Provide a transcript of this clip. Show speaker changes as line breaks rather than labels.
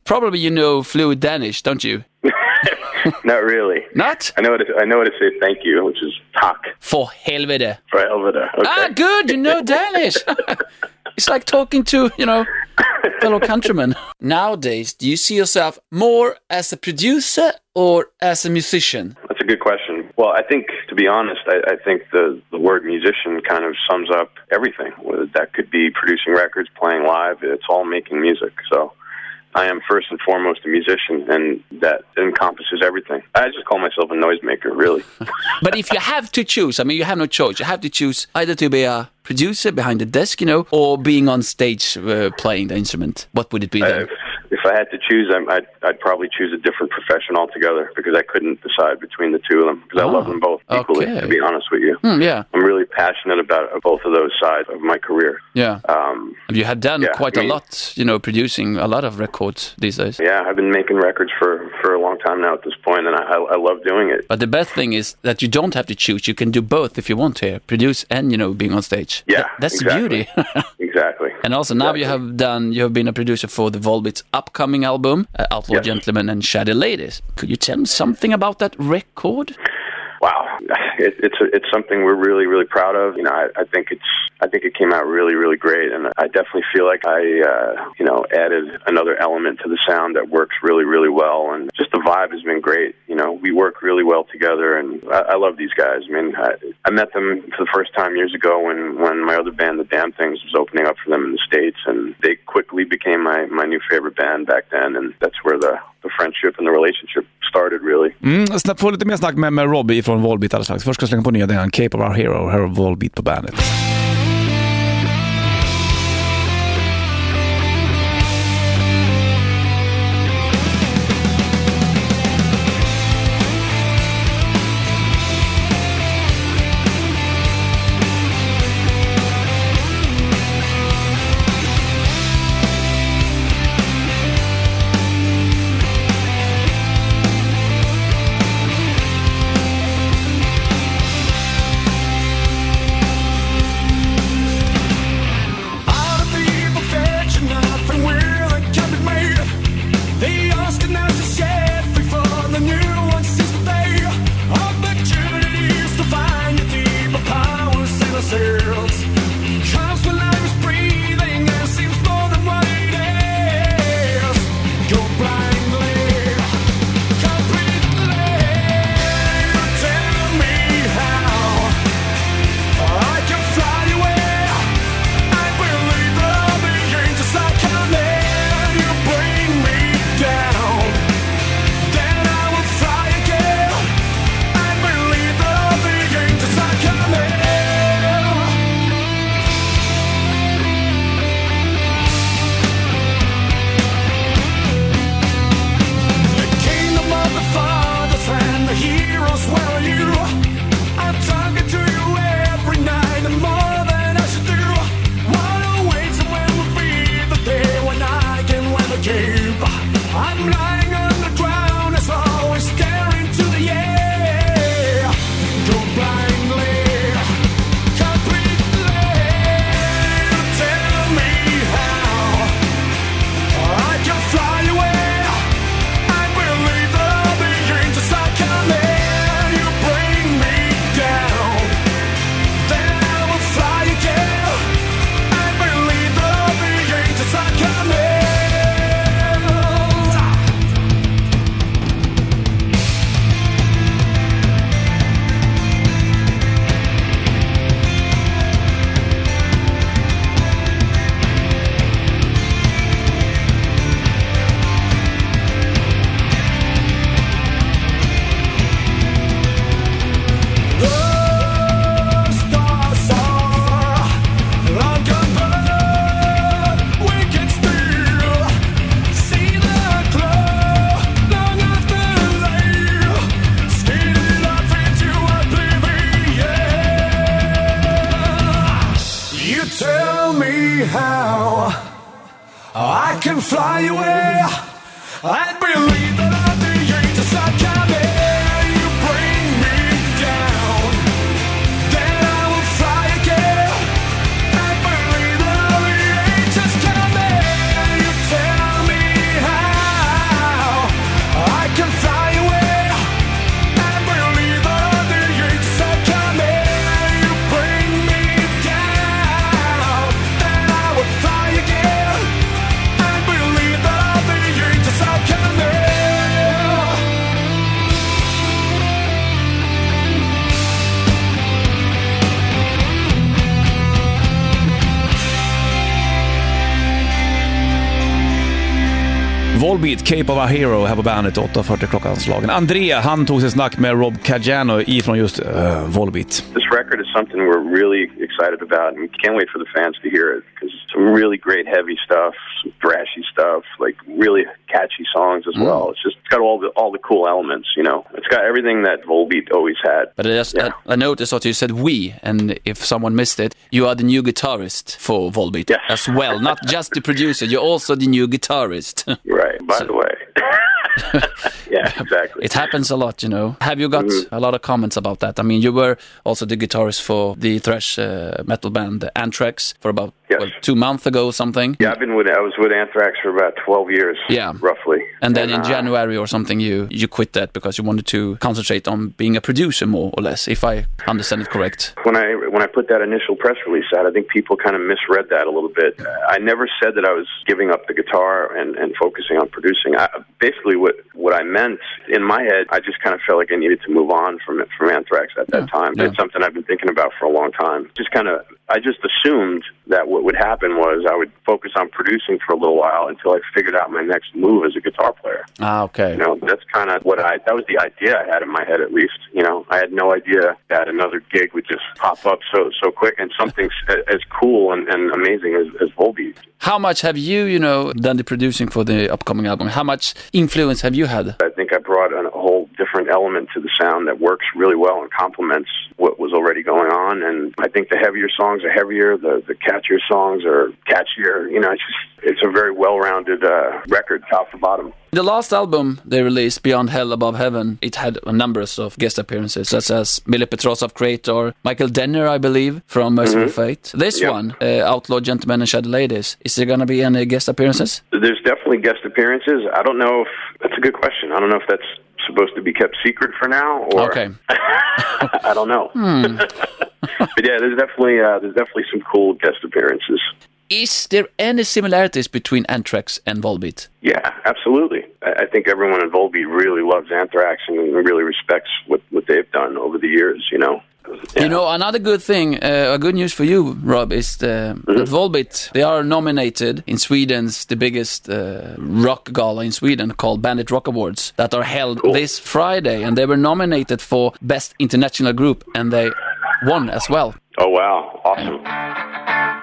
Probably you know fluent Danish, don't you?
Not really.
Not?
I know how to say thank you, which is tack.
For helvete.
For helvete. Okay.
Ah, good. You know Danish. It's like talking to, fellow countrymen. Nowadays, do you see yourself more as a producer or as a musician?
That's a good question. Well, I think, to be honest, I think the word musician kind of sums up everything. That could be producing records, playing live. It's all making music. So I am first and foremost a musician, and that encompasses everything. I just call myself a noisemaker, really.
But if you have to choose, you have no choice. You have to choose either to be a producer behind the desk, or being on stage playing the instrument. What would it be then?
If I had to choose, I'd probably choose a different profession altogether, because I couldn't decide between the two of them, because I love them both equally, to be honest with you.
Yeah.
I'm really passionate about both of those sides of my career.
Yeah. You have done quite a lot, producing a lot of records these days.
Yeah, I've been making records for a long time now at this point, and I love doing it.
But the best thing is that you don't have to choose. You can do both if you want to, produce and, being on stage.
Yeah,
that's
exactly.
the beauty.
Exactly.
And also now you have been a producer for the Volbeat's upcoming album, Outlaw Gentlemen and Shady Ladies. Could you tell me something about that record?
Wow, it's something we're really, really proud of. I think it came out really, really great, and I definitely feel like I added another element to the sound that works really, really well, and just the vibe has been great. We work really well together, and I love these guys. I met them for the first time years ago when my other band, The Damn Things, was opening up for them in the States, and they quickly became my new favorite band back then, and that's where the friendship and the relationship started, really.
Få lite mer snack med Robbie från Volbeat alldeles strax. Först ska jag slänga på nya den Cape of Our Hero, här Volbeat på bandet.
I can fly away. I believe that I'm the angels are coming. You bring me down, then I will fly again. I believe that I'm the angels coming. You tell me how
Volbeat, Cape of a Hero här på bandet, 8:40 klockanslagen. André, han tog sig snack med Rob Caggiano ifrån just Volbeat.
This record is something we're really excited about, and we can't wait for the fans to hear it, because it's some really great heavy stuff, some thrashy stuff, like really catchy songs as well. It's got all the cool elements, you know. It's got everything that Volbeat always had.
But I noticed that you said we, and if someone missed it, you are the new guitarist for Volbeat as well. Not just the producer, you're also the new guitarist.
Right, by the way. Yeah, exactly.
It happens a lot, you know. Have you got a lot of comments about that? I mean, you were also the guitarist for the thrash metal band Anthrax for about 2 months ago or something.
Yeah, I was with Anthrax for about 12 years, roughly.
And then in January or something, you quit that because you wanted to concentrate on being a producer more or less, if I understand it correct.
When I put that initial press release out, I think people kind of misread that a little bit. I never said that I was giving up the guitar and focusing on producing. Basically, what I meant in my head, I just kind of felt like I needed to move on from Anthrax at that time. It's something I've been thinking about for a long time. I just assumed that what would happen was I would focus on producing for a little while until I figured out my next move as a guitar player.
Okay.
You know, that's kind of that was the idea I had in my head, at least. You know, I had no idea that another gig would just pop up so quick, and something as cool and amazing as Volbeat.
How much have you done the producing for the upcoming album? How much influence have you had?
I think I brought a whole different element to the sound that works really well and complements what was already going on. And I think the heavier songs are heavier, the catchier songs are catchier. You know, it's a very well-rounded record, top to bottom.
The last album they released, Beyond Hell Above Heaven, it had a number of guest appearances, such as Mille Petrosov Creator, Michael Denner, I believe, from Merciful Fate. This one, Outlaw Gentlemen and Shadow Ladies, is there going to be any guest appearances?
There's definitely guest appearances. I don't know if that's a good question. I don't know if that's supposed to be kept secret for now, or
okay.
I don't know. But yeah, there's definitely some cool guest appearances.
Is there any similarities between Anthrax and Volbeat?
Yeah, absolutely. I think everyone in Volbeat really loves Anthrax and really respects what they've done over the years, you know. Yeah.
You know, another good thing, good news for you, Rob, is that Volbeat, they are nominated in Sweden's, the biggest rock gala in Sweden, called Bandit Rock Awards, that are held this Friday, and they were nominated for Best International Group, and they won as well.
Oh, wow. Awesome.